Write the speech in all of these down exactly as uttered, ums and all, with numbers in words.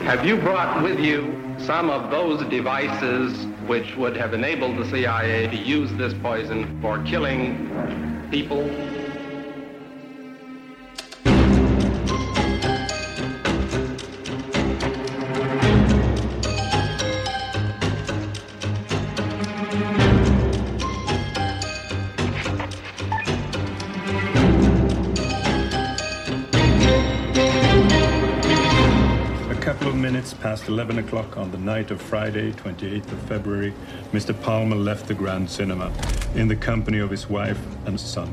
Have you brought with you some of those devices which would have enabled the C I A to use this poison for killing people? Minutes past eleven o'clock on the night of Friday, twenty-eighth of February, Mister Palmer left the Grand Cinema in the company of his wife and son.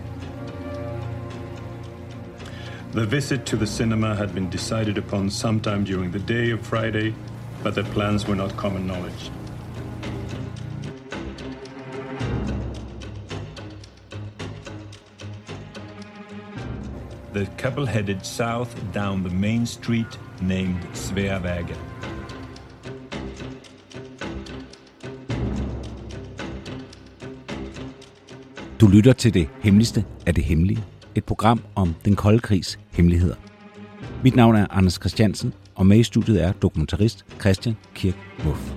The visit to the cinema had been decided upon sometime during the day of Friday, but their plans were not common knowledge. The couple headed south down the main street named Sveavägen. Du lytter til det hemmeligste af det hemmelige. Et program om den kolde krigs hemmeligheder. Mit navn er Anders Christiansen, og med i studiet er dokumentarist Christian Kirk Muff.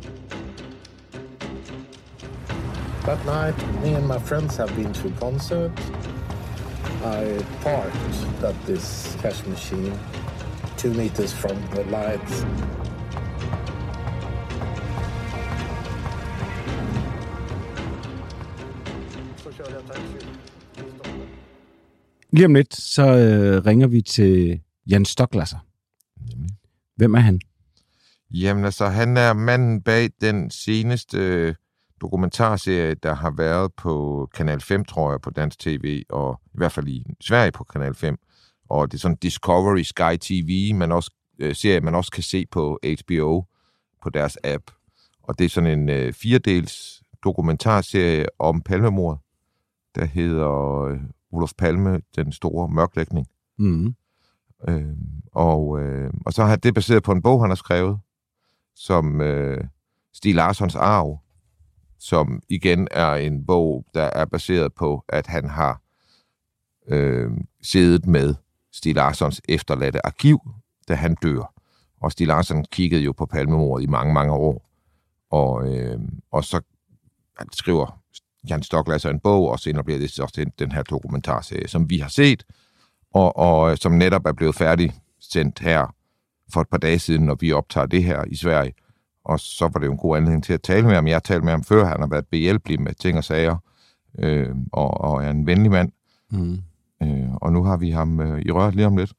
That night, me and my friends have been to a concert. I parked at this cash machine two meters from the lights. Lige om lidt, så øh, ringer vi til Jan Stocklasser. Hvem er han? Jamen altså, han er manden bag den seneste øh, dokumentarserie, der har været på Kanal fem, tror jeg, på dansk tv, og i hvert fald i Sverige på Kanal fem. Og det er sådan Discovery Sky T V, man også, øh, serie, man også kan se på H B O på deres app. Og det er sådan en øh, firedels dokumentarserie om Palmemordet, der hedder øh, Olof Palme, den store mørklægning. Mm. Øh, og, øh, og så har det baseret på en bog, han har skrevet, som øh, Stieg Larssons arv, som igen er en bog, der er baseret på, at han har øh, siddet med Stieg Larssons efterladte arkiv, da han dør. Og Stieg Larsson kiggede jo på Palmemordet i mange, mange år. Og, øh, og så skriver Jan Stocklasser en bog, og senere bliver det så den, den her dokumentarserie, som vi har set, og, og som netop er blevet færdigsendt her for et par dage siden, når vi optager det her i Sverige. Og så var det jo en god anledning til at tale med ham. Jeg har talt med ham før, han har været behjælpelig med ting og sager, øh, og, og er en venlig mand. Mm. Øh, og nu har vi ham øh, i røret lige om lidt.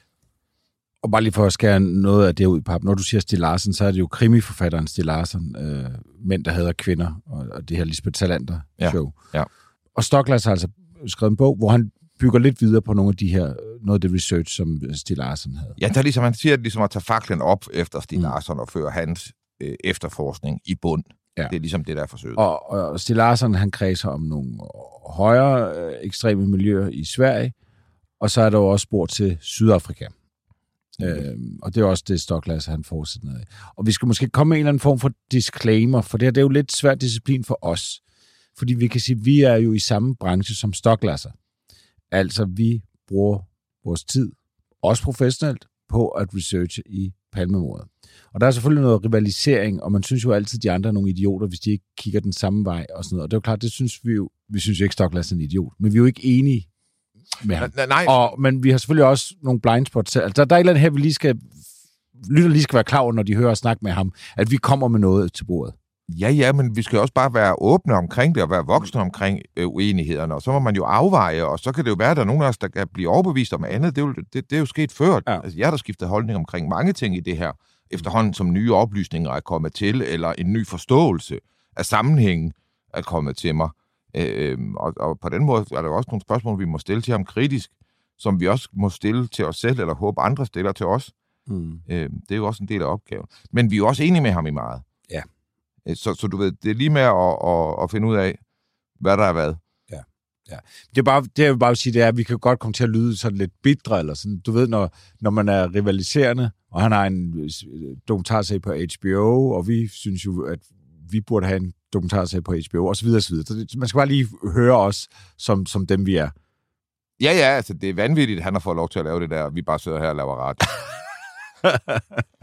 Og bare lige for at skære noget af det ud i pap. Når du siger Stieg Larsson, så er det jo krimiforfatteren Stieg Larsson, øh, Mænd, der hader kvinder, og, og det her Lisbeth Salander-show. Ja, ja. Og Stocklasser har altså skrevet en bog, hvor han bygger lidt videre på nogle af de her, noget af det research, som Stieg Larsson havde. Ja, der ligesom, han siger, at ligesom at tage faklen op efter Stieg Larsson og føre hans øh, efterforskning i bund. Ja. Det er ligesom det, der er forsøget. Og, og Stieg Larsson, han kredser om nogle højere øh, ekstreme miljøer i Sverige, og så er der jo også spor til Sydafrika. Mm. Øhm, og det er også det, Stocklasser, han fortsætter ned. Og vi skal måske komme med en eller anden form for disclaimer, for det her det er jo lidt svært disciplin for os. Fordi vi kan sige, at vi er jo i samme branche som Stocklasser. Altså, vi bruger vores tid, også professionelt, på at researche i Palmemordet. Og der er selvfølgelig noget rivalisering, og man synes jo altid, at de andre er nogle idioter, hvis de ikke kigger den samme vej og sådan noget. Og det er jo klart, det synes vi jo, vi synes jo ikke, Stocklasser er en idiot, men vi er jo ikke enige med ham. Nej, nej. Og, men vi har selvfølgelig også nogle blindspots. Altså, der, der er et eller andet her, vi lige skal, lytter lige skal være klar over, når de hører og snakke med ham, at vi kommer med noget til bordet. Ja, ja, men vi skal også bare være åbne omkring det, og være voksne omkring øh, uenighederne, og så må man jo afveje, og så kan det jo være, at der er nogen af os, der kan blive overbevist om andet. Det er jo, det, det er jo sket før. Ja. Altså, jeg har skiftet holdning omkring mange ting i det her, efterhånden som nye oplysninger er kommet til, eller en ny forståelse af sammenhængen er kommet til mig. Øh, og, og på den måde er der også nogle spørgsmål, vi må stille til ham kritisk, som vi også må stille til os selv, eller håbe andre stiller til os. Mm. Øh, det er jo også en del af opgaven. Men vi er jo også enige med ham i meget. Ja. Så, så du ved, det er lige med at, at, at finde ud af, hvad der er hvad. Ja, ja. Det er bare, det jeg vil bare sige, det er, at vi kan godt komme til at lyde sådan lidt bitre, eller sådan. Du ved, når, når man er rivaliserende, og han har en dokumentarserie på H B O, og vi synes jo, at vi burde have en dokumentarserie på H B O, og så videre, og så videre. Så man skal bare lige høre os, som, som dem vi er. Ja, ja, altså det er vanvittigt, at han har fået lov til at lave det der, vi bare sidder her og laver ret.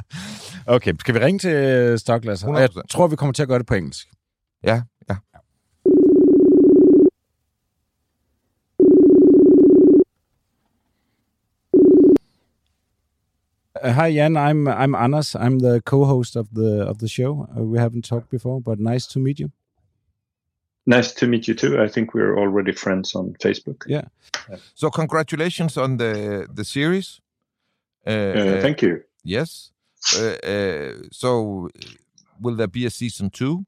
Okay, skal vi ringe til Stoklas? Jeg tror, vi kommer til at gøre det på engelsk. Ja, ja. Uh, hi Jan, I'm I'm Anders. I'm the co-host of the of the show. Uh, we haven't talked before, but nice to meet you. Nice to meet you too. I think we're already friends on Facebook. Yeah. So congratulations on the the series. Uh, uh, thank you. Yes. Uh, uh, so will there be a season two?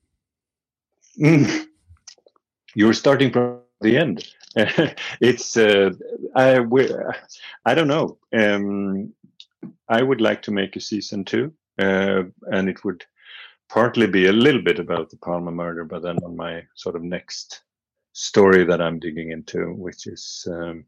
Mm. You're starting from the end. it's uh, I I don't know. Um, I would like to make a season two, uh, and it would partly be a little bit about the Palmer murder, but then on my sort of next story that I'm digging into, which is um,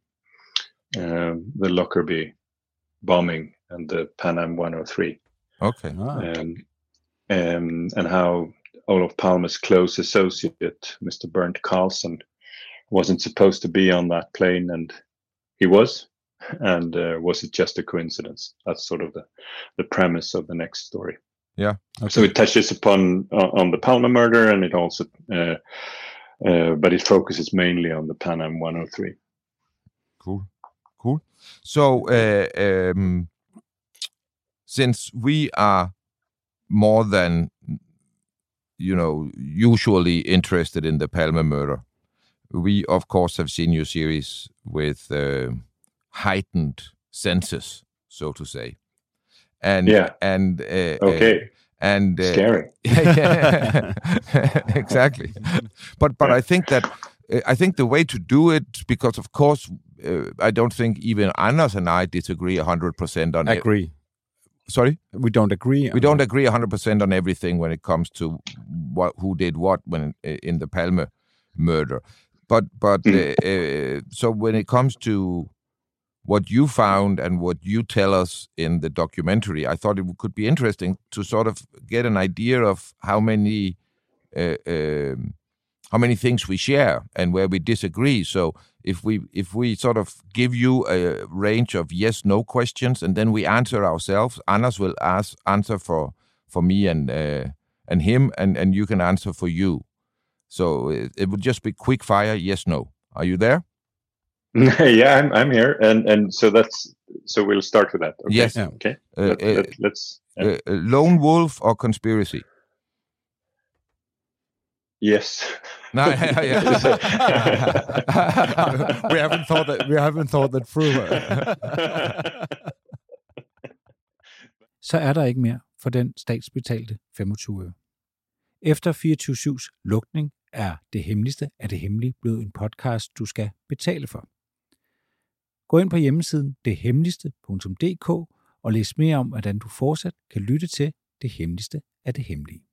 um, the Lockerbie bombing and the Pan Am one oh three. Okay. Ah. Um, um, and how Olof Palme's close associate, Mister Bernd Carlson, wasn't supposed to be on that plane, and he was. And uh, was it just a coincidence? That's sort of the, the premise of the next story. Yeah. Okay. So it touches upon uh, on the Palmer murder, and it also, uh, uh, but it focuses mainly on the Pan Am one oh three. Cool, cool. So, uh, um, since we are more than, you know, usually interested in the Palmer murder, we of course have seen your series with uh, heightened senses, so to say. And yeah, and uh, okay, uh, and uh, scary. Yeah, exactly. But but I think that uh, I think the way to do it, because of course uh, I don't think even Anders and I disagree a hundred percent on it. Agree. Sorry, we don't agree. We don't agree a hundred percent on everything when it comes to what who did what when in the Palme murder. But but mm. uh, uh, so when it comes to what you found and what you tell us in the documentary, I thought it could be interesting to sort of get an idea of how many uh, um, how many things we share and where we disagree. So if we if we sort of give you a range of yes/no questions and then we answer ourselves, Anders will ask answer for for me and uh, and him, and and you can answer for you. So it, it would just be quick fire yes/no. Are you there? Yeah, I'm I'm here, and and so that's so we'll start with that. Okay? Yes. Yeah. Okay. Uh, let, uh, let, let's. Yeah. Uh, lone wolf or conspiracy? Yes. No, yeah, yeah. we haven't thought that. We haven't thought that through. Så er der ikke mere for den statsbetalte femogtyve øre. Efter fireogtyve syvs lukning er Det Hemmeligste af det Hemmelige blevet en podcast, du skal betale for. Gå ind på hjemmesiden det hemmeligste punktum d k og læs mere om, hvordan du fortsat kan lytte til Det Hemmeligste af det Hemmelige.